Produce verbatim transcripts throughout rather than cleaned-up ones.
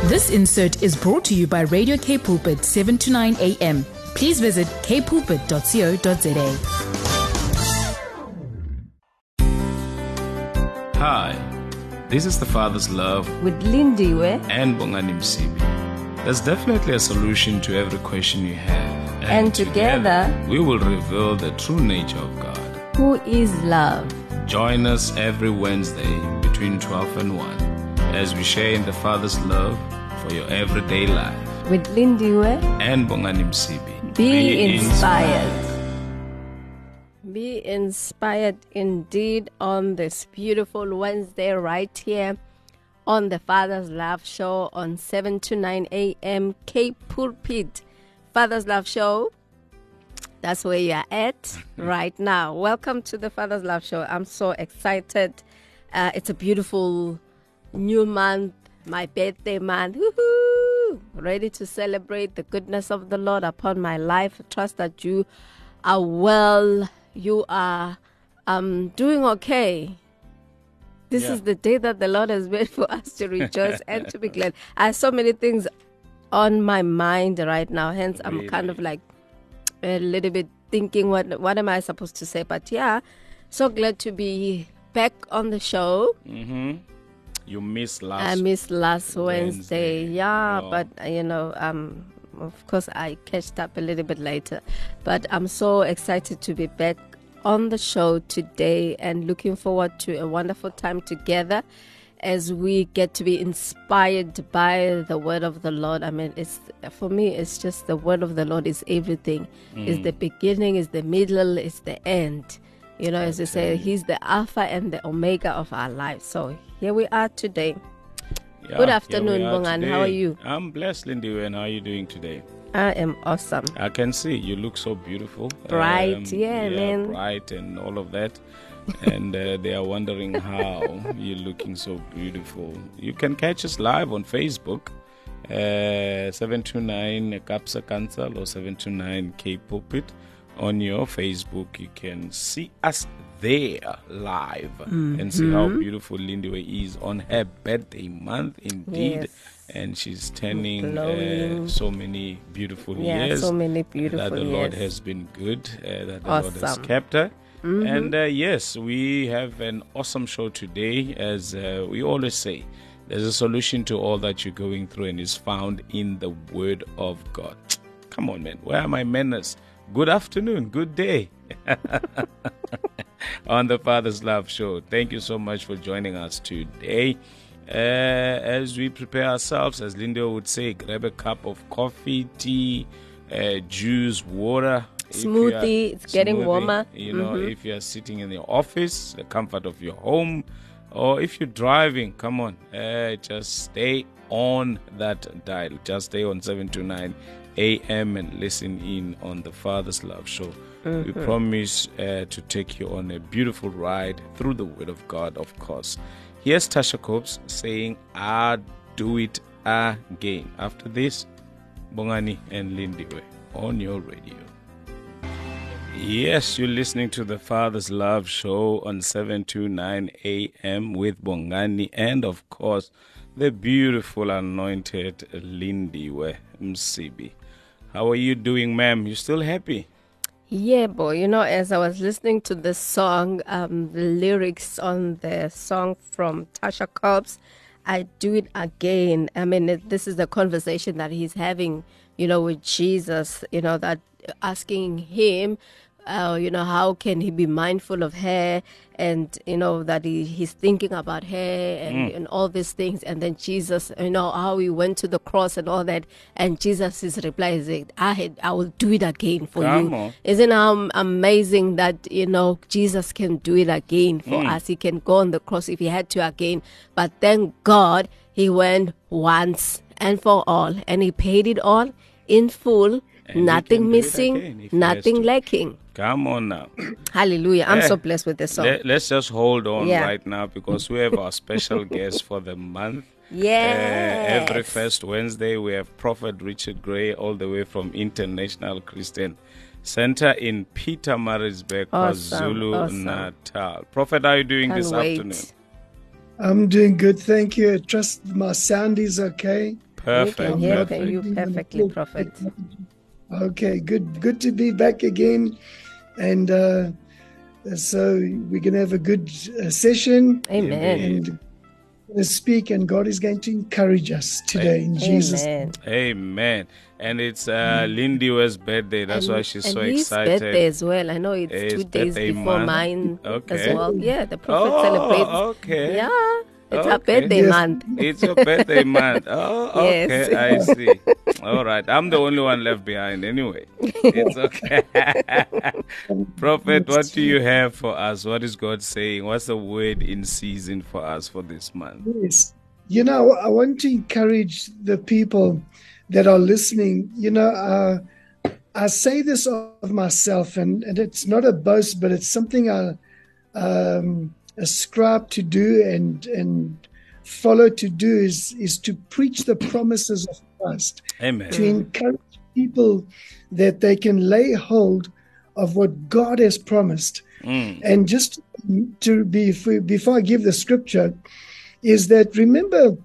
This insert is brought to you by Radio K Pulpit, seven to nine a.m. Please visit k pulpit dot co dot za. Hi, this is The Father's Love with Lindiwe and Bongani Msibi. There's definitely a solution to every question you have. And, and together, together, we will reveal the true nature of God, who is love. Join us every Wednesday between twelve and one as we share in the Father's love for your everyday life. With Lindiwe and Bongani Msibi. Be, Be inspired. inspired. Be inspired indeed on this beautiful Wednesday right here on the Father's Love Show on seven to nine a.m. K Pulpit. Father's Love Show. That's where you are at right now. Welcome to the Father's Love Show. I'm so excited. Uh, it's a beautiful new month, my birthday month. Woohoo! Ready to celebrate the goodness of the Lord upon my life. Trust that you are well. You are um, doing okay. This yeah. is the day that the Lord has made for us to rejoice and to be glad. I have so many things on my mind right now. Hence, I'm really? kind of like a little bit thinking, what what am I supposed to say? But yeah, so glad to be back on the show. Mm-hmm. You missed last. I missed last Wednesday. Wednesday. Yeah, oh. but you know, um, of course, I catched up a little bit later. But I'm so excited to be back on the show today and looking forward to a wonderful time together as we get to be inspired by the word of the Lord. I mean, it's for me, it's just the word of the Lord is everything. Mm. It's the beginning, it's the middle, it's the end. You know, as they say, He's the Alpha and the Omega of our lives. So here we are today. Yeah, Good afternoon, Bongan. How are you? I'm blessed, Lindy. And how are you doing today? I am awesome. I can see you look so beautiful. Bright, um, yeah, yeah, man. Bright and all of that. and uh, they are wondering how you're looking so beautiful. You can catch us live on Facebook, uh, seven two nine Kapsa Council or seven two nine K Pulpit. On your Facebook, you can see us there live mm-hmm. and see how beautiful Lindiwe is on her birthday month, indeed. Yes. And she's turning uh, so many beautiful yeah, years. so many beautiful That the years. Lord has been good, uh, that the awesome. Lord has kept her. Mm-hmm. And uh, yes, we have an awesome show today. As uh, we always say, there's a solution to all that you're going through and is found in the Word of God. Come on, man. Where are my manners? Good afternoon, good day. On the Father's Love Show. Thank you so much for joining us today. Uh, as we prepare ourselves, as Linda would say, grab a cup of coffee, tea, uh, juice, water. Smoothie, it's getting smoothie, warmer. You know, mm-hmm. if you're sitting in the office, the comfort of your home, or if you're driving, come on, uh, just stay on that dial. Just stay on seven to nine a.m. and listen in on the Father's Love Show. Mm-hmm. We promise uh, to take you on a beautiful ride through the Word of God, of course. Here's Tasha Cobbs saying, I'll do it again. After this, Bongani and Lindiwe on your radio. Yes, you're listening to the Father's Love Show on seven to nine a.m. with Bongani and, of course, the beautiful anointed Lindiwe Msibi. How are you doing, ma'am? You still happy? Yeah, boy. You know, as I was listening to the song, um, the lyrics on the song from Tasha Cobbs, I do it again. I mean, it, this is the conversation that he's having, you know, with Jesus, you know, that asking him, uh, you know, how can he be mindful of her, and, you know, that he, he's thinking about her and, mm. and all these things. And then Jesus, you know, how he went to the cross and all that. And Jesus' reply is, I, had, I will do it again for Come you. on. Isn't it amazing that, you know, Jesus can do it again for mm. us? He can go on the cross if he had to again. But thank God he went once and for all. And he paid it all in full. And nothing missing, nothing lacking. Come on now. Hallelujah. I'm eh, so blessed with this song. Let, let's just hold on yeah. right now, because we have our special guest for the month. Yes. Uh, every first Wednesday, we have Prophet Richard Gray, all the way from International Christian Center in Pietermaritzburg, awesome. KwaZulu awesome. Natal. Prophet, how are you doing Can't this wait. afternoon? I'm doing good, thank you. I trust my sound is okay. Perfect. We can hear perfect. you perfectly, Prophet. Okay, good good to be back again. And uh, so we're going to have a good uh, session. Amen. Indeed. And going to speak, and God is going to encourage us today in Jesus' Amen. Amen. And it's uh, Lindy West's birthday. That's and, why she's and so his excited. birthday as well. I know it's His two days birthday before month. mine Okay. as well. Yeah, the prophet Oh, celebrates. okay. Yeah, it's our Okay. birthday Yes. month. It's your birthday month. Oh, Yes. okay. I see. All right. I'm the only one left behind anyway. It's okay. Prophet, what do you have for us? What is God saying? What's the word in season for us for this month? Yes. You know, I want to encourage the people that are listening. You know, uh, I say this of myself, and, and it's not a boast, but it's something I um, ascribe to do and and follow to do is, is to preach the promises of Christ, Amen. to encourage people that they can lay hold of what God has promised. Mm. And just to be, before I give the scripture, is that remember,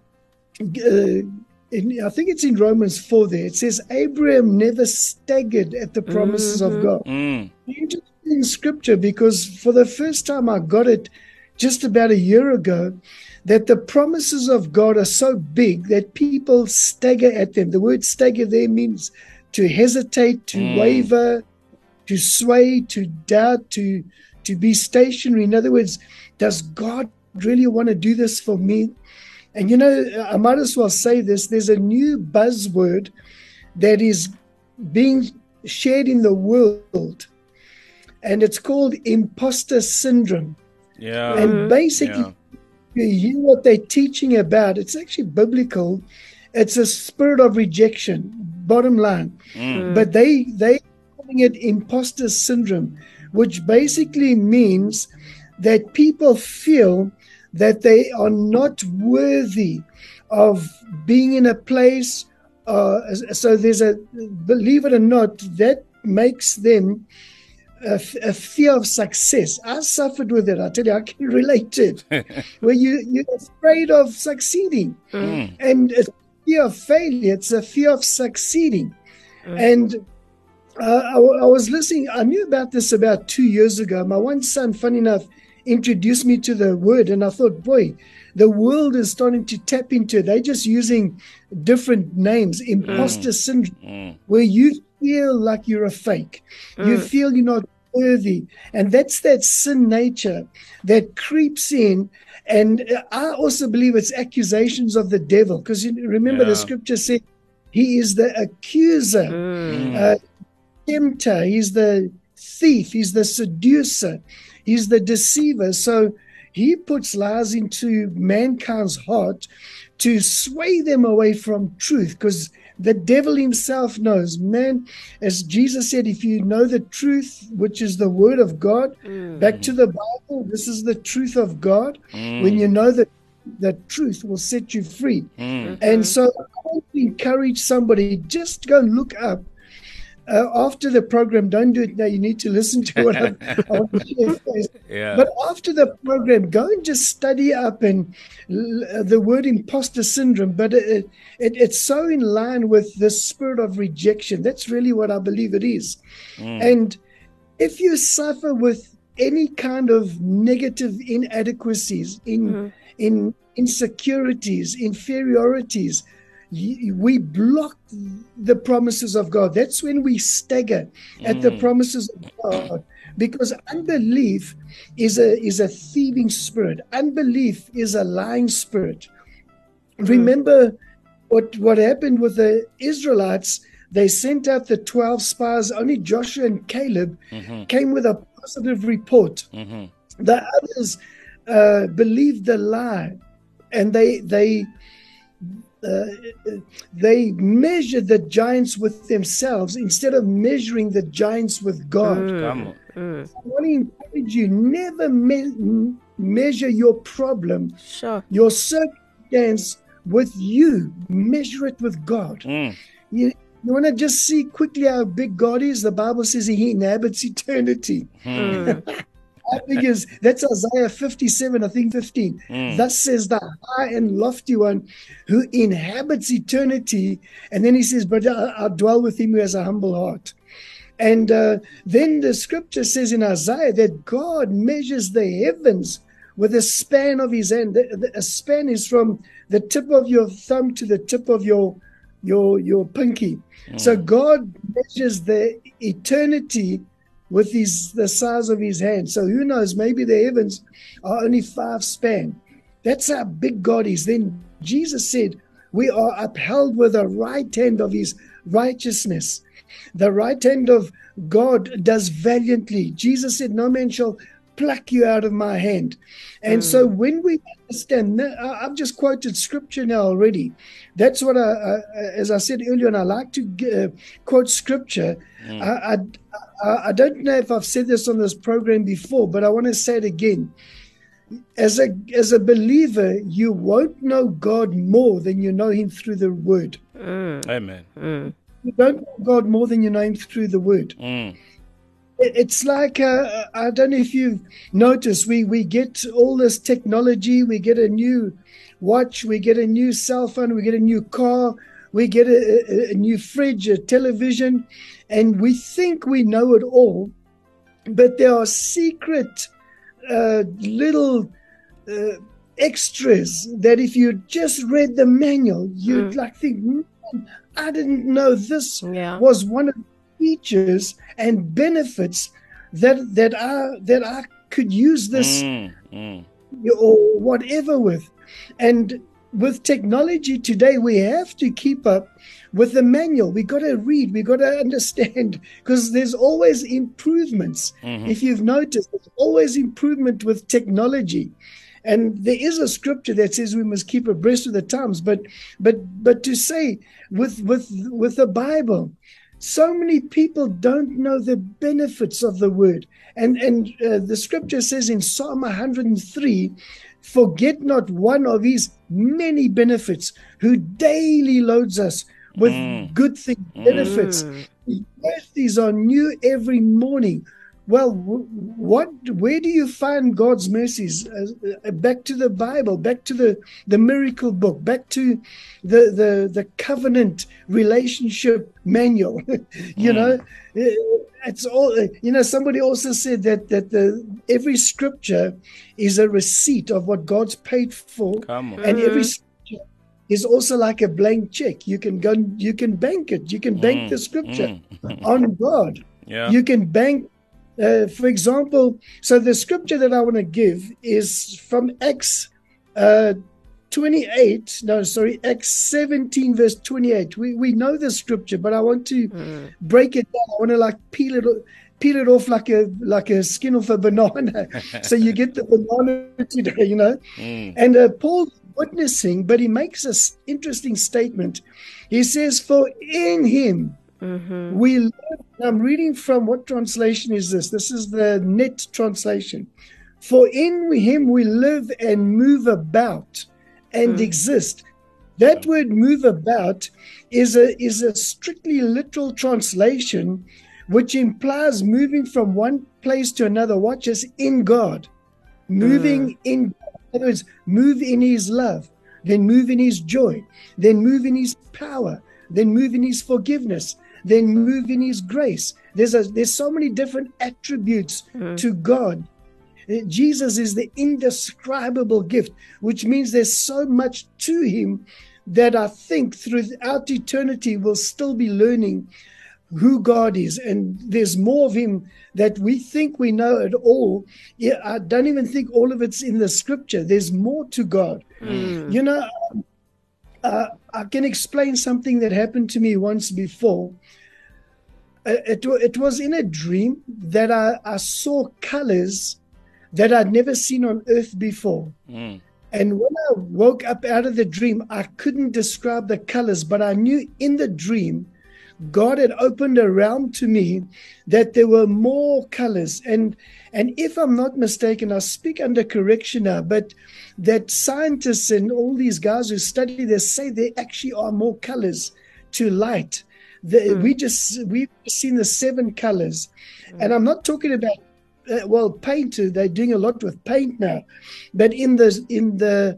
uh, in, I think it's in Romans four there, it says Abraham never staggered at the promises Mm-hmm. of God. Mm. Interesting scripture, because for the first time I got it just about a year ago, that the promises of God are so big that people stagger at them. The word stagger there means to hesitate, to Mm. waver, to sway, to doubt, to to be stationary. In other words, does God really want to do this for me? And you know, I might as well say this, there's a new buzzword that is being shared in the world, and it's called imposter syndrome. Yeah. And basically, Yeah. you hear what they're teaching about. It's actually biblical. It's a spirit of rejection, bottom line. Mm. But they they calling it imposter syndrome, which basically means that people feel that they are not worthy of being in a place. Uh, so there's a, believe it or not, that makes them a, a fear of success. I suffered with it. I tell you, I can relate to it. Where you, you're afraid of succeeding. Mm. And it's a fear of failure. It's a fear of succeeding. And uh, I, I was listening. I knew about this about two years ago. My one son, funny enough, introduced me to the word, and I thought, boy, the world is starting to tap into it. They're just using different names, imposter syndrome, Mm. where you feel like you're a fake. You feel you're not worthy. And that's that sin nature that creeps in. And I also believe it's accusations of the devil, because you remember Yeah. the scripture said he is the accuser, Mm. uh, tempter, he's the thief, he's the seducer, he's the deceiver. So he puts lies into mankind's heart to sway them away from truth, because the devil himself knows, man, as Jesus said, if you know the truth, which is the word of God, back to the Bible, this is the truth of God. Mm. When you know that the truth will set you free. Mm. And so I want to encourage somebody, just go and look up uh, after the program. Don't do it now. You need to listen to what I'm, I want to share first. Yeah. But after the program, go and just study up and uh, the word imposter syndrome. But it, it, it's so in line with the spirit of rejection. That's really what I believe it is. Mm. And if you suffer with any kind of negative inadequacies, in in insecurities, inferiorities, y- we block the promises of God. That's when we stagger at the promises of God, because unbelief is a is a thieving spirit. Unbelief is a lying spirit. Remember what what happened with the Israelites. They sent out the twelve spies. Only Joshua and Caleb Mhm. came with a positive report. Mhm. The others uh, believed the lie, and they they uh, they measured the giants with themselves instead of measuring the giants with God. Come on. I want to encourage you: never me- measure your problem, Sure. your circumstance with you. Measure it with God. Mm. You, you want to just see quickly how big God is? The Bible says He inhabits eternity. Mm. How big is that's Isaiah fifty-seven, I think fifteen. Mm. Thus says the high and lofty one who inhabits eternity. And then he says, but I, I'll dwell with him who has a humble heart. And uh, then the scripture says in Isaiah that God measures the heavens with a span of his hand. The, the, a span is from the tip of your thumb to the tip of your your your pinky. Mm. So God measures the eternity with his the size of his hand. So who knows, maybe the heavens are only five span. That's how big God is. Then Jesus said, we are upheld with the right hand of his righteousness. The right hand of God does valiantly. Jesus said, no man shall pluck you out of my hand. And mm. so when we understand, I've just quoted scripture now already. That's what I, I as I said earlier, and I like to uh, quote scripture. Mm. I, I, I don't know if I've said this on this program before, but I want to say it again. As a as a believer, you won't know God more than you know him through the word. Mm. Amen. Mm. You don't know God more than you know him through the word. Mm. It's like, uh, I don't know if you've noticed, we, we get all this technology, we get a new watch, we get a new cell phone, we get a new car, we get a, a, a new fridge, a television, and we think we know it all, but there are secret uh, little uh, extras that if you just read the manual, you'd mm. like think, man, I didn't know this yeah. was one of the features and benefits that that I that I could use this mm, mm. or whatever with. And with technology today, we have to keep up with the manual. We got to read, we got to understand, because there's always improvements. Mm-hmm. If you've noticed, there's always improvement with technology. And there is a scripture that says we must keep abreast of the times. But but but to say with with with the Bible, so many people don't know the benefits of the word. And and uh, the scripture says in Psalm one hundred three, forget not one of his many benefits, who daily loads us with mm. good things, benefits. Mm. His mercies are new every morning. Well, what? Where do you find God's mercies? Uh, back to the Bible, back to the, the miracle book, back to the the, the covenant relationship manual. you mm. know, it's all. You know, somebody also said that that the every scripture is a receipt of what God's paid for, Come on. and mm. every scripture is also like a blank check. You can go, you can bank it. You can bank mm. the scripture mm. on God. Yeah. You can bank. Uh, for example, so the scripture that I want to give is from Acts uh, twenty-eight. No, sorry, Acts seventeen, verse twenty-eight. We we know the scripture, but I want to Mm. break it down. I want to like peel it peel it off like a like a skin off a banana. So you get the banana today, you know. Mm. And uh, Paul's witnessing, but he makes an interesting statement. He says, "For in him." Mm-hmm. We live, I'm reading from what translation is this? This is the Net translation. For in him we live and move about and Mm. exist. That word move about is a is a strictly literal translation, which implies moving from one place to another. Watch us, in God. Moving Mm. in, in other words, move in his love, then move in his joy, then move in his power, then move in his forgiveness, then move in his grace. There's a, there's so many different attributes Mm. to God. Uh, Jesus is the indescribable gift, which means there's so much to him that I think throughout eternity we'll still be learning who God is. And there's more of him that we think we know it all. Yeah, I don't even think all of it's in the scripture. There's more to God. Mm. You know, uh, I can explain something that happened to me once before. Uh, it, it was in a dream that I, I saw colors that I'd never seen on earth before. Mm. And when I woke up out of the dream, I couldn't describe the colors, but I knew in the dream, God had opened a realm to me that there were more colors. And and if I'm not mistaken, I speak under correction now, but that scientists and all these guys who study this say there actually are more colors to light. The, Mm. We just, we've seen the seven colors. Mm. And I'm not talking about uh, well, paint. They're doing a lot with paint now, but in the in the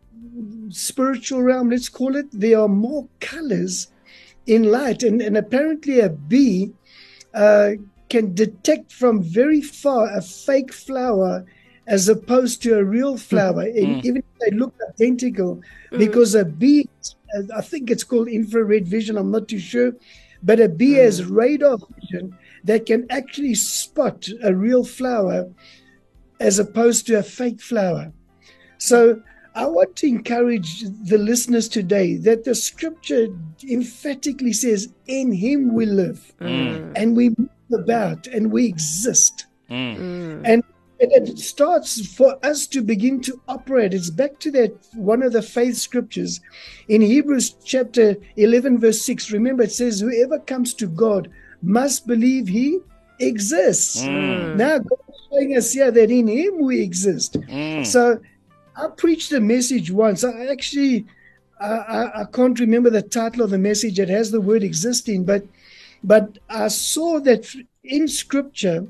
spiritual realm, let's call it, there are more colors in light, and, and apparently a bee uh, can detect from very far a fake flower as opposed to a real flower, mm. and even if they look identical, mm. because a bee, I think it's called infrared vision, I'm not too sure, but a bee mm. has radar vision that can actually spot a real flower as opposed to a fake flower. So I want to encourage the listeners today that the scripture emphatically says, in him we live, mm. and we move about, and we exist. Mm. And it starts for us to begin to operate. It's back to that one of the faith scriptures in Hebrews chapter eleven, verse six. Remember, it says, whoever comes to God must believe he exists. Mm. Now, God is showing us here that in him we exist. Mm. So I preached a message once. I actually, I, I, I can't remember the title of the message. It has the word existing, but, but I saw that in scripture,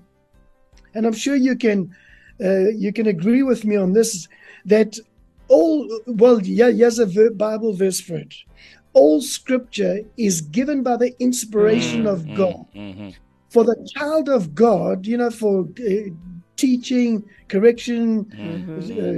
and I'm sure you can uh, you can agree with me on this, that all, well, yeah, here's a ver- Bible verse for it. All scripture is given by the inspiration mm, of mm, God. Mm-hmm. For the child of God, you know, for uh, teaching, correction, mm-hmm. uh,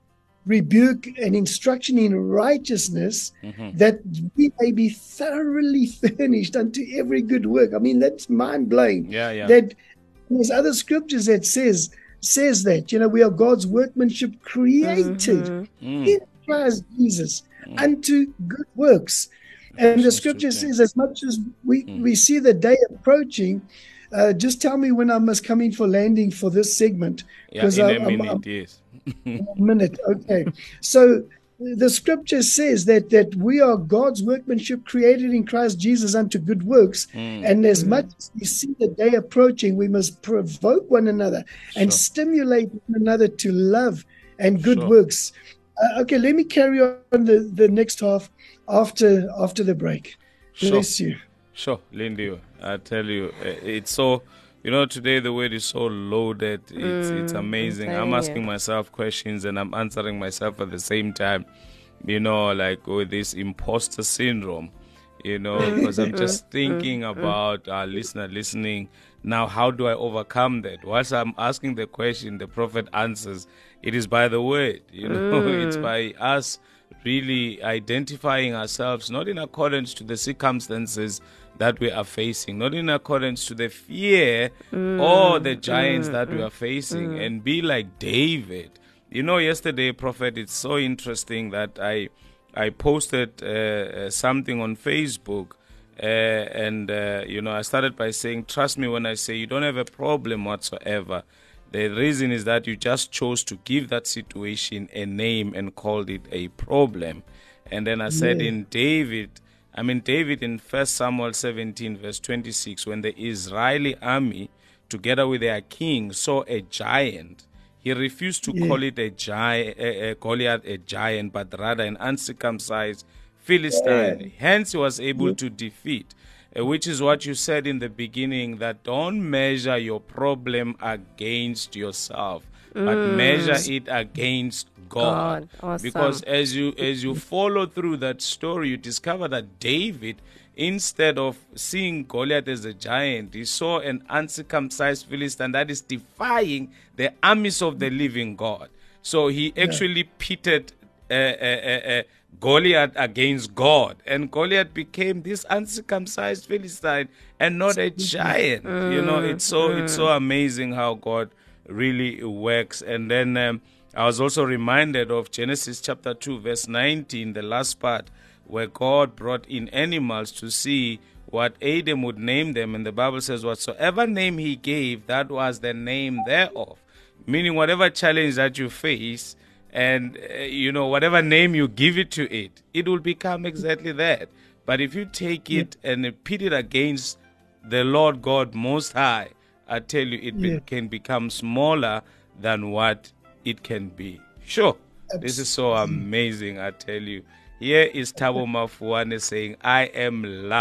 rebuke, and instruction in righteousness, mm-hmm. that we may be thoroughly furnished unto every good work. I mean, that's mind-blowing. Yeah, yeah. That there's other scriptures that says says that, you know, we are God's workmanship created mm-hmm. in Christ Jesus mm-hmm. unto good works. And the scripture says, as much as we, mm-hmm. we see the day approaching, uh, just tell me when I must come in for landing for this segment. Yeah, in I, a minute, I'm, yes. in a minute, okay. So the scripture says that that we are God's workmanship created in Christ Jesus unto good works. Mm. And as mm. much as we see the day approaching, we must provoke one another sure. and stimulate one another to love and good sure. works. Uh, okay, let me carry on the, the next half after after the break. Sure. Bless you. Sure, Lindy, I tell you, it's so... You know, today the word is so loaded. It's mm, it's amazing. I'm asking you. myself questions and I'm answering myself at the same time. You know, like with this imposter syndrome, you know, because I'm just thinking about our listener listening. Now, how do I overcome that? Whilst I'm asking the question, the prophet answers. It is by the word, you know, mm. it's by us really identifying ourselves, not in accordance to the circumstances that we are facing, not in accordance to the fear mm, or the giants mm, that mm, we are facing, mm. and be like David. You know, yesterday, Prophet, it's so interesting that I I posted uh, something on Facebook, uh, and, uh, you know, I started by saying, trust me when I say you don't have a problem whatsoever. The reason is that you just chose to give that situation a name and called it a problem. And then I said yeah. in David, I mean, David in First Samuel seventeen, verse twenty-six, when the Israeli army, together with their king, saw a giant, he refused to yeah. call it a giant, a, a Goliath a giant, but rather an uncircumcised Philistine. Yeah. Hence, he was able yeah. to defeat, uh, which is what you said in the beginning, that don't measure your problem against yourself, mm. but measure it against God. God. Awesome. Because as you as you follow through that story, you discover that David, instead of seeing Goliath as a giant, he saw an uncircumcised Philistine that is defying the armies of the living God. So he actually yeah. pitted uh, uh, uh, Goliath against God, and Goliath became this uncircumcised Philistine and not a giant. Mm. You know, it's so mm. it's so amazing how God really works. And then um, I was also reminded of Genesis chapter two, verse nineteen, the last part, where God brought in animals to see what Adam would name them. And the Bible says, whatsoever name he gave, that was the name thereof. Meaning whatever challenge that you face, and, uh, you know, whatever name you give it to it, it will become exactly that. But if you take it yeah. and pit it against the Lord God Most High, I tell you, it yeah. be- can become smaller than what it can be. Sure, Absolutely. This is so amazing, I tell you. Here is Thabo Mafuane saying, I am loved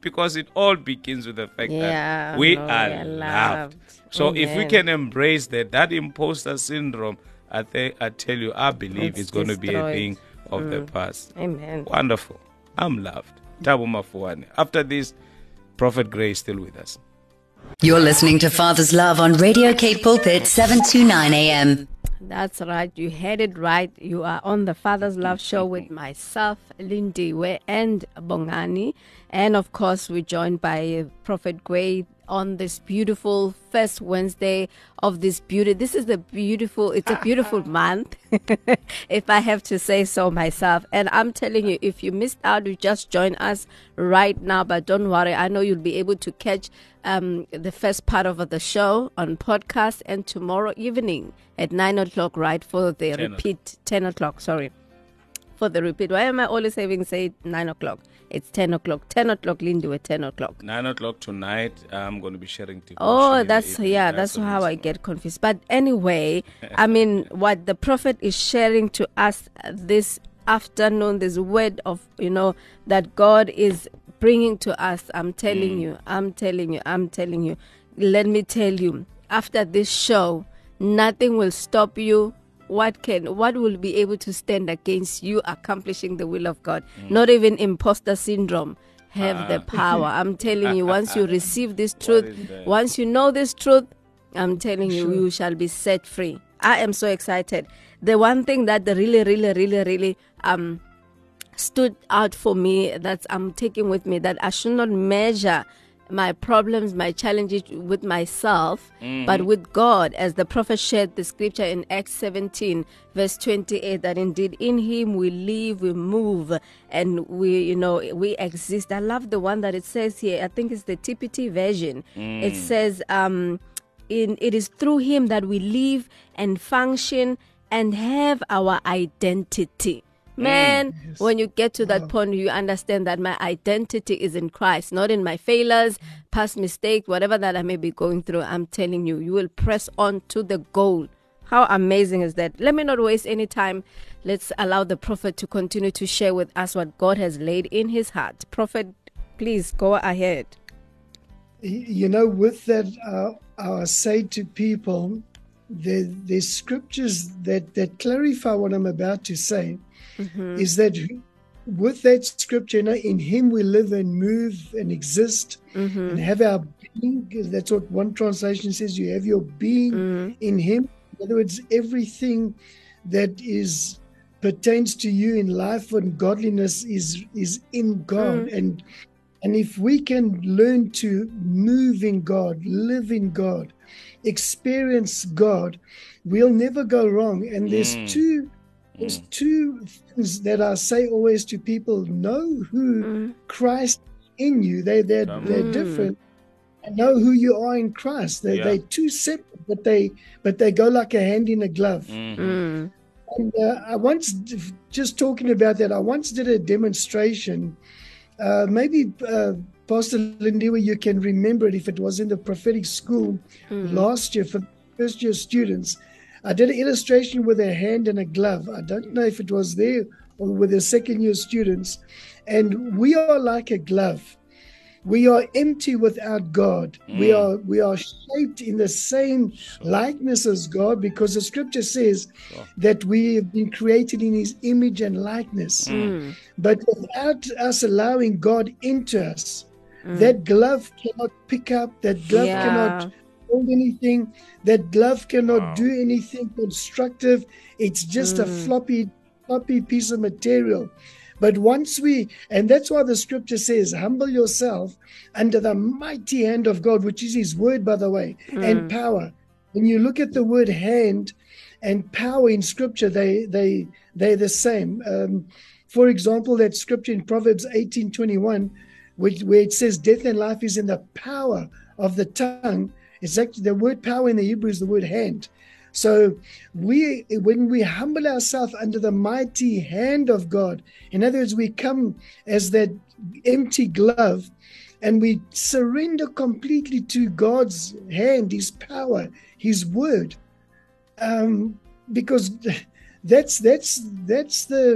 because it all begins with the fact Yeah, that we no, are we are loved. loved. So if we Amen. can embrace that, that imposter syndrome, I think I tell you, I believe It's it's going to be a destroyed. thing of the past. Amen. Wonderful. I'm loved. Tabu Mafuane. After this, Prophet Gray is still with us. You're listening to Father's Love on Radio Cape Pulpit, seven twenty-nine A M. That's right. You had it right. You are on the Father's Love Show with myself, Lindiwe, and Bongani. And of course, we're joined by Prophet Gray on this beautiful first Wednesday of this beauty. This is a beautiful, it's a beautiful month, if I have to say so myself. And I'm telling you, if you missed out, you just join us right now. But don't worry, I know you'll be able to catch um, the first part of the show on podcast and tomorrow evening at nine o'clock, right, for the ten repeat, ten o'clock, sorry. For the repeat. Why am I always having say nine o'clock? It's ten o'clock. ten o'clock, Lindy, at ten o'clock. Nine o'clock tonight, I'm going to be sharing devotion. Oh, in the that's, evening. yeah, that's the how I reason. get confused. But anyway, I mean, what the prophet is sharing to us this afternoon, this word of, you know, that God is bringing to us. I'm telling you, I'm telling you, I'm telling you. Let me tell you, after this show, nothing will stop you. What can, what will be able to stand against you accomplishing the will of God? Not even imposter syndrome have the power. I'm telling you, once you receive this truth, is that? once you know this truth, I'm telling you, Sure. you shall be set free. I am so excited. The one thing that the really, really, really, really um stood out for me, that I'm taking with me, that I should not measure my problems, my challenges with myself, but with God, as the prophet shared the scripture in Acts seventeen, verse twenty-eight, that indeed in him we live, we move, and we, you know, we exist. I love the one that it says here. I think it's the T P T version. It says, um, in it is through him that we live and function and have our identity. Man, Yes. when you get to that point, you understand that my identity is in Christ, not in my failures, past mistakes, whatever that I may be going through. I'm telling you, you will press on to the goal. How amazing is that? Let me not waste any time. Let's allow the prophet to continue to share with us what God has laid in his heart. Prophet, please go ahead. You know, with that, uh, I say to people, there, there's scriptures that, that clarify what I'm about to say. Mm-hmm. Is that with that scripture, you know, in him we live and move and exist Mm-hmm. and have our being. That's what one translation says. You have your being Mm-hmm. in him. In other words, everything that is pertains to you in life and godliness is is in God. Mm. And and if we can learn to move in God, live in God, experience God, we'll never go wrong. And there's Mm. two there's two things that I say always to people: know who Mm. Christ in you. They they're Come they're on. different. And know who you are in Christ. They Yeah. they're two separate, but they but they go like a hand in a glove. Mhm. Mm. And uh, I once, just talking about that, I once did a demonstration. Uh, maybe uh, Pastor Lindiwe, you can remember it if it was in the prophetic school last year for first year students. I did an illustration with a hand and a glove. I don't know if it was there or with the second year students. And we are like a glove. We are empty without God. We Mm. are we are shaped in the same likeness as God, because the scripture says Sure. that we have been created in his image and likeness. Mm. But without us allowing God into us, that glove cannot pick up, that glove Yeah. cannot hold anything, that glove cannot Wow. do anything constructive. It's just a floppy, floppy piece of material. But once we, and that's why the scripture says, humble yourself under the mighty hand of God, which is his word, by the way, and power. When you look at the word hand and power in scripture, they, they, they're the same. Um, for example, that scripture in Proverbs eighteen twenty-one, which, where it says death and life is in the power of the tongue. It's actually the word power in the Hebrew is the word hand. So we, when we humble ourselves under the mighty hand of God, in other words, we come as that empty glove and we surrender completely to God's hand, his power, his word. Um, because that's that's that's the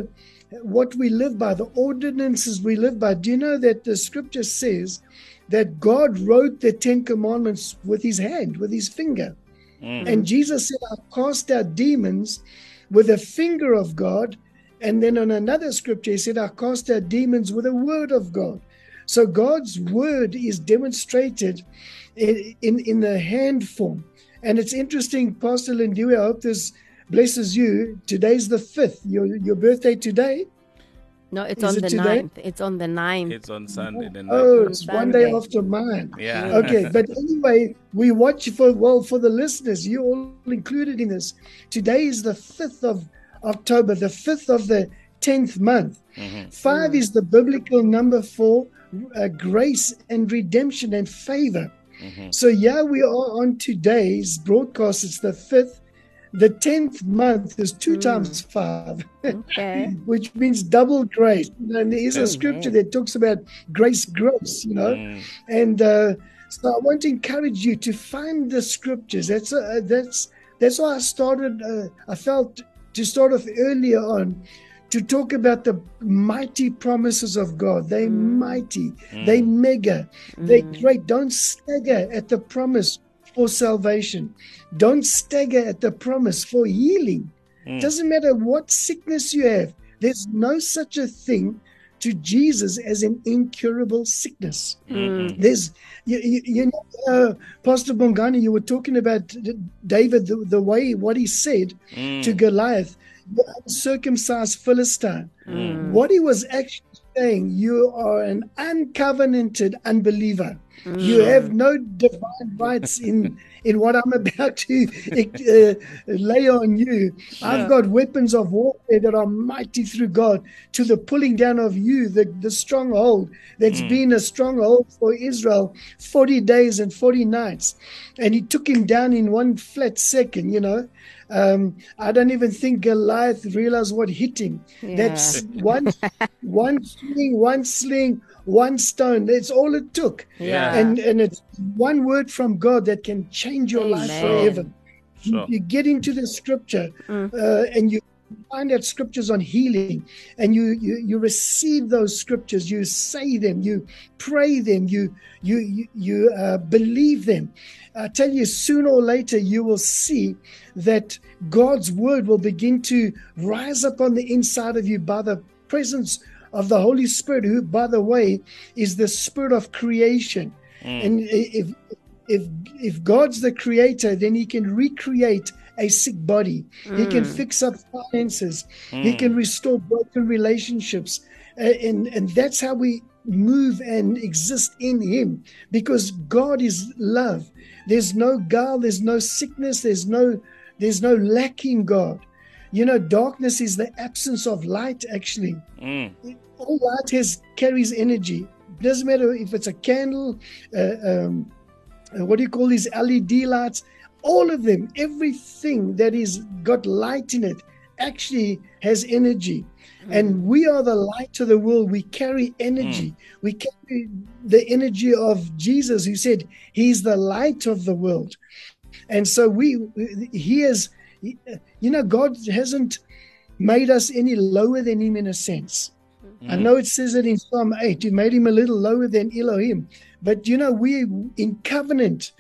what we live by, the ordinances we live by. Do you know that the scripture says that God wrote the Ten Commandments with his hand, with his finger? Mm. And Jesus said, I cast out demons with the finger of God. And then on another scripture, he said, I cast out demons with the word of God. So God's word is demonstrated in, in, in the hand form. And it's interesting, Pastor Lindiwe, I hope this blesses you. Today's the fifth, your, your birthday today. No, it's Is on it the today? ninth. It's on the ninth. It's on Sunday. The Oh, ninth. it's one day Sunday. after mine. Yeah. Okay, but anyway, we watch for, well, for the listeners, you're all included in this. Today is the fifth of October, the fifth of the tenth month. Mm-hmm. Five is the biblical number for uh, grace and redemption and favor. Mm-hmm. So yeah, we are on today's broadcast. It's the fifth. The tenth month is two Mm. times five, Okay. which means double grace. And there is a Amen. scripture that talks about grace, grace, you know. Mm. And uh, so I want to encourage you to find the scriptures. That's uh, that's that's why I started. Uh, I felt to start off earlier on to talk about the mighty promises of God. They Mm. mighty, they mega, they great. Don't stagger at the promise for salvation. Don't stagger at the promise for healing. Mm. Doesn't matter what sickness you have. There's no such a thing to Jesus as an incurable sickness. Mm-hmm. There's, you, you, you know, uh, Pastor Bongani, you were talking about David, the, the way, what he said Mm. to Goliath, the uncircumcised Philistine. Mm. What he was actually saying, you are an uncovenanted unbeliever. You have no divine rights in, in what I'm about to uh, lay on you. I've got weapons of warfare that are mighty through God to the pulling down of you, the, the stronghold that's Mm. been a stronghold for Israel forty days and forty nights. And he took him down in one flat second, you know. Um, I don't even think Goliath realized what hit him. Yeah. That's one, one sling, one sling, one stone. That's all it took. Yeah. And and it's one word from God that can change your life Amen. forever. You, Sure. you get into the scripture Mm. uh, and you find out scriptures on healing, and you, you you receive those scriptures. You say them. You pray them. You you you, you uh, believe them. I tell you, sooner or later, you will see that God's word will begin to rise up on the inside of you by the presence of the Holy Spirit, who, by the way, is the spirit of creation. Mm. And if if if God's the creator, then he can recreate a sick body. He can fix up finances. He can restore broken relationships. Uh, and, and that's how we move and exist in him, because God is love. There's no guile, there's no sickness, there's no there's no lack in God. You know, darkness is the absence of light, actually. Mm. All light has carries energy. Doesn't matter if it's a candle, uh, um, uh, what do you call these L E D lights? All of them, everything that is got light in it actually has energy. Mm. And we are the light to the world. We carry energy. Mm. We carry the energy of Jesus, who said he's the light of the world. And so we, he is, you know, God hasn't made us any lower than him in a sense. Mm. I know it says it in Psalm eight, he made him a little lower than Elohim. But, you know, we in covenant.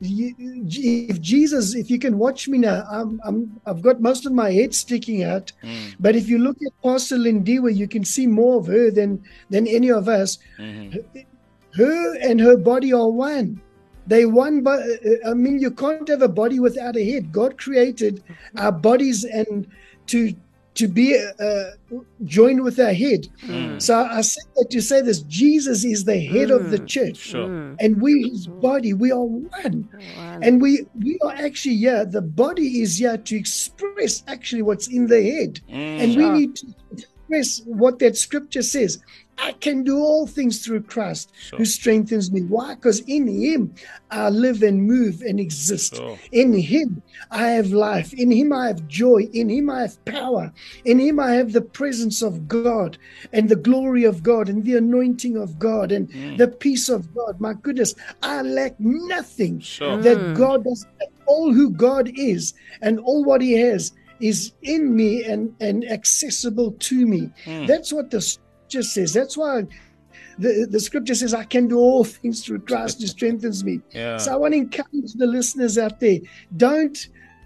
If Jesus, if you can watch me now, I'm, I'm, I've got most of my head sticking out. Mm. But if you look at Pastor Lindiwe, you can see more of her than, than any of us. Mm-hmm. Her, her and her body are one. They one, but I mean, you can't have a body without a head. God created our bodies and to to be uh, joined with our head. Mm. So I say that to say this: Jesus is the head mm. of the church, sure. and we, His body, we are one. Wow. And we we are actually here. The body is here to express actually what's in the head, mm. and sure. we need to express what that scripture says. I can do all things through Christ sure. who strengthens me. Why? Because in him I live and move and exist. Sure. In him I have life. In him I have joy. In him I have power. In him I have the presence of God and the glory of God and the anointing of God and mm. the peace of God. My goodness, I lack nothing sure. that God does. All who God is and all what he has is in me and, and accessible to me. Mm. That's what the scripture says. That's why the, the scripture says, I can do all things through Christ who strengthens me. Yeah. So I want to encourage the listeners out there. Don't,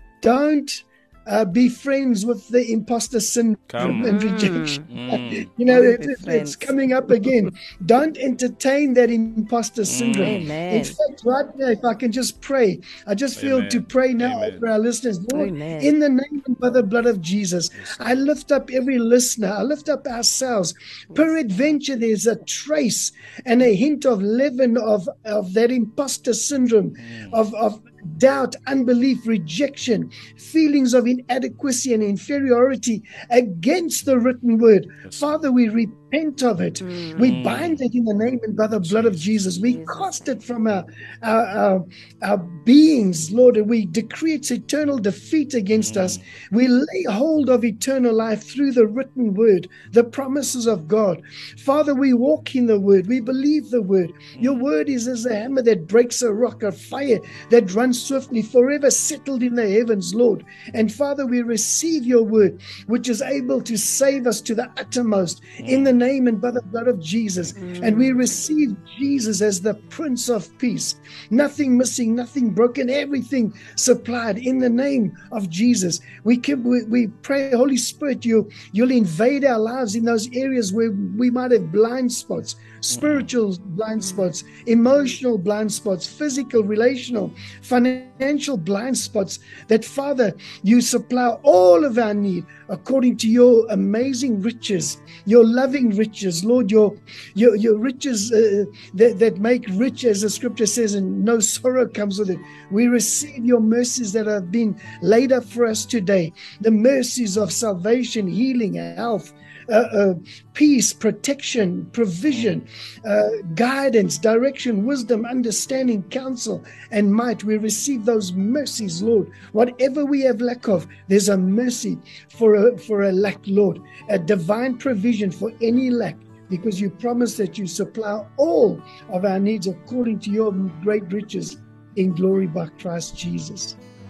don't uh, be friends with the imposter syndrome Come. and rejection. Mm. You know, Don't it, be it- friends. it's coming up again. Don't entertain that imposter syndrome. Amen. In fact, right now, if I can just pray, I just feel Amen. to pray now Amen. over our listeners. Lord, Amen. in the name and by the blood of Jesus, I lift up every listener. I lift up ourselves. Peradventure, there's a trace and a hint of leaven of, of that imposter syndrome, of, of doubt, unbelief, rejection, feelings of inadequacy and inferiority against the written word. Father, we repent of it. We bind it in the name and by the blood of Jesus. We cast it from our, our, our, our beings, Lord, and we decree its eternal defeat against us. We lay hold of eternal life through the written word, the promises of God. Father, we walk in the word. We believe the word. Your word is as a hammer that breaks a rock, a fire that runs swiftly, forever settled in the heavens, Lord. And Father, we receive your word, which is able to save us to the uttermost in the name and by the blood of Jesus. And we receive Jesus as the Prince of Peace. Nothing missing, nothing broken, everything supplied in the name of Jesus. We can, we, we pray, Holy Spirit, you, you'll invade our lives in those areas where we might have blind spots, spiritual blind spots, emotional blind spots, physical, relational, financial blind spots, that Father, you supply all of our need according to your amazing riches, your loving riches, Lord, your your, your riches uh, that, that make rich, as the scripture says, and no sorrow comes with it. We receive your mercies that have been laid up for us today, the mercies of salvation, healing, health, Uh, uh, peace, protection, provision, uh, guidance, direction, wisdom, understanding, counsel, and might. We receive those mercies, Lord. Whatever we have lack of, there's a mercy for a, for a lack, Lord. A divine provision for any lack, because you promise that you supply all of our needs according to your great riches in glory by Christ Jesus.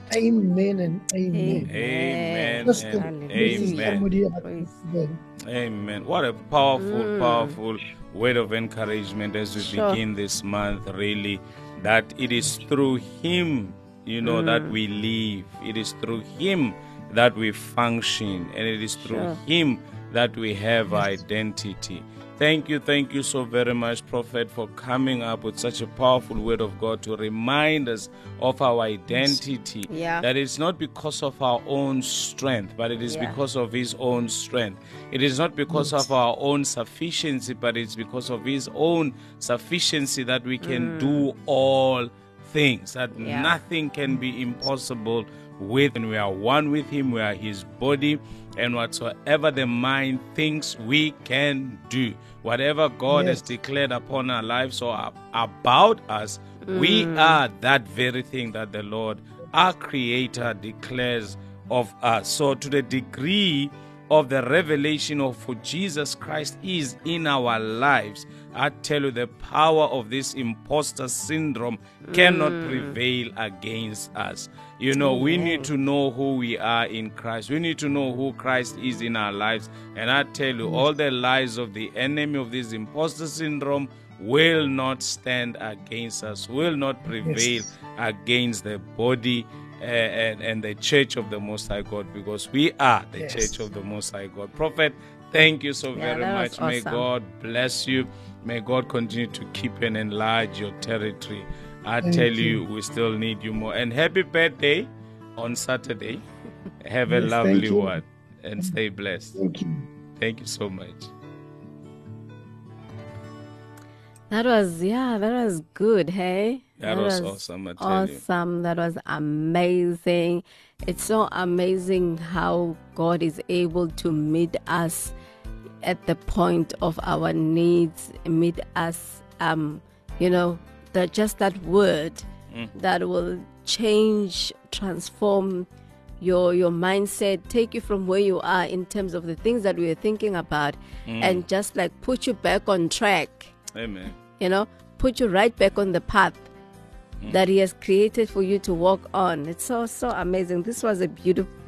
Amen and amen. Amen Just and to- this is amen. somebody out Praise. there. Amen. What a powerful, powerful word of encouragement as we Sure. begin this month, really, that it is through Him, you know, that we live. It is through Him that we function, and it is through Sure. Him that we have identity. Thank you, thank you so very much, Prophet, for coming up with such a powerful word of God to remind us of our identity. Yeah. That it's not because of our own strength, but it is Yeah. because of His own strength. It is not because of our own sufficiency, but it's because of His own sufficiency that we can do all things, that Yeah. nothing can be impossible with. And we are one with Him, we are His body, and whatsoever the mind thinks we can do, whatever God has Yes. declared upon our lives or ab- about us, we are that very thing that the Lord, our Creator, declares of us. So to the degree of the revelation of who Jesus Christ is in our lives, I tell you, the power of this imposter syndrome cannot prevail against us. You know, we need to know who we are in Christ. We need to know who Christ is in our lives. And I tell you, all the lies of the enemy of this imposter syndrome will not stand against us, will not prevail Yes. against the body uh, and, and the church of the Most High God, because we are the Yes. church of the Most High God. Prophet, thank you so Yeah, very that much. was May awesome. God bless you. May God continue to keep and enlarge your territory. I Thank tell you. you, we still need you more. And happy birthday on Saturday. Have a Yes, thank lovely you. one and stay blessed. Thank you. Thank you so much. That was, yeah, that was good, hey? That was awesome, I tell you. awesome. That was amazing. It's so amazing how God is able to meet us at the point of our needs, meet us, um, you know, that just that word that will change, transform your your mindset, take you from where you are in terms of the things that we were thinking about, and just like put you back on track. Amen. You know, put you right back on the path that He has created for you to walk on. It's so, so amazing. This was a beautiful,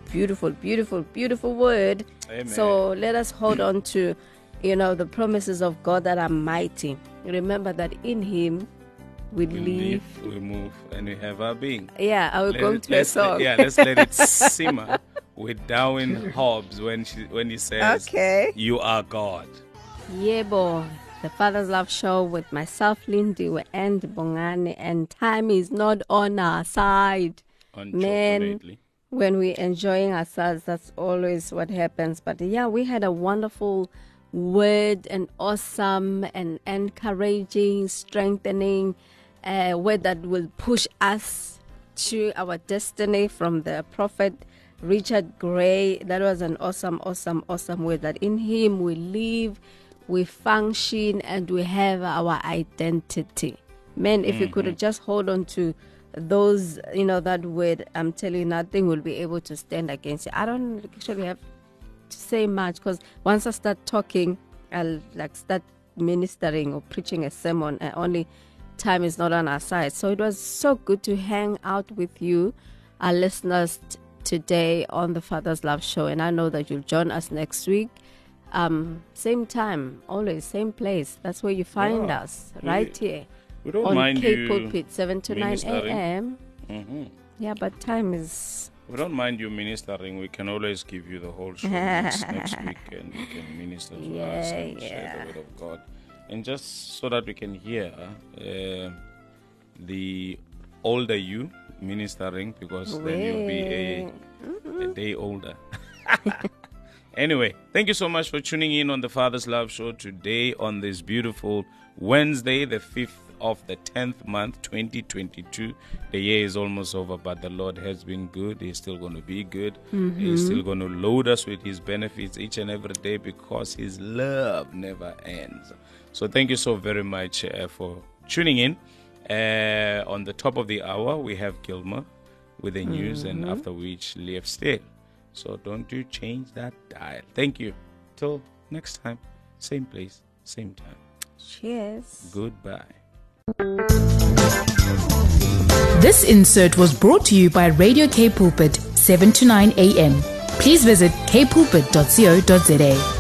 beautiful, beautiful, beautiful word. Amen. So let us hold on to, you know, the promises of God that are mighty. Remember that in Him we, We live. live, we move, and we have our being. Yeah, I will Let go it- to a let's let- song. yeah, let's let it simmer with Darwin Hobbs when she when he says, Okay. "You are God." Yeah, boy. The Father's Love Show with myself, Lindy, and Bongani, and time is not on our side. Man, Unfortunately. when we're enjoying ourselves, that's always what happens. But yeah, we had a wonderful word, and awesome and encouraging, strengthening uh, word that will push us to our destiny from the prophet Richard Gray. That was an awesome, awesome, awesome word, that in Him we live, we function, and we have our identity. Man, if you could just hold on to those, you know, that word, I'm telling you, nothing will be able to stand against you. I don't actually have to say much, because once I start talking, I'll like start ministering or preaching a sermon, and only time is not on our side. So it was so good to hang out with you, our listeners, t- today on the Father's Love Show, and I know that you'll join us next week. Um, same time, always same place. That's where you find Yeah. us, We- right here We don't on mind Cape you Pulpit, seven to nine ministering. a.m. hmm Yeah, but time is We don't mind you ministering. We can always give you the whole show next, next week, and you can minister to us Yeah, and share yeah. the word of God, and just so that we can hear uh, the older you ministering, because then you'll be a, a day older. Anyway, thank you so much for tuning in on the Father's Love Show today on this beautiful Wednesday, the fifth of the tenth month, twenty twenty-two. The year is almost over, but the Lord has been good. He's still going to be good. He's still going to load us with His benefits each and every day, because His love never ends. So thank you so very much uh, for tuning in. Uh, on the top of the hour, we have Gilmer with the news, and after which, Leif Steele. So don't you change that dial. Thank you. Till next time, same place, same time. cheers. Goodbye. This insert was brought to you by Radio K Pulpit, seven to nine a.m. Please visit k pulpit dot co dot za.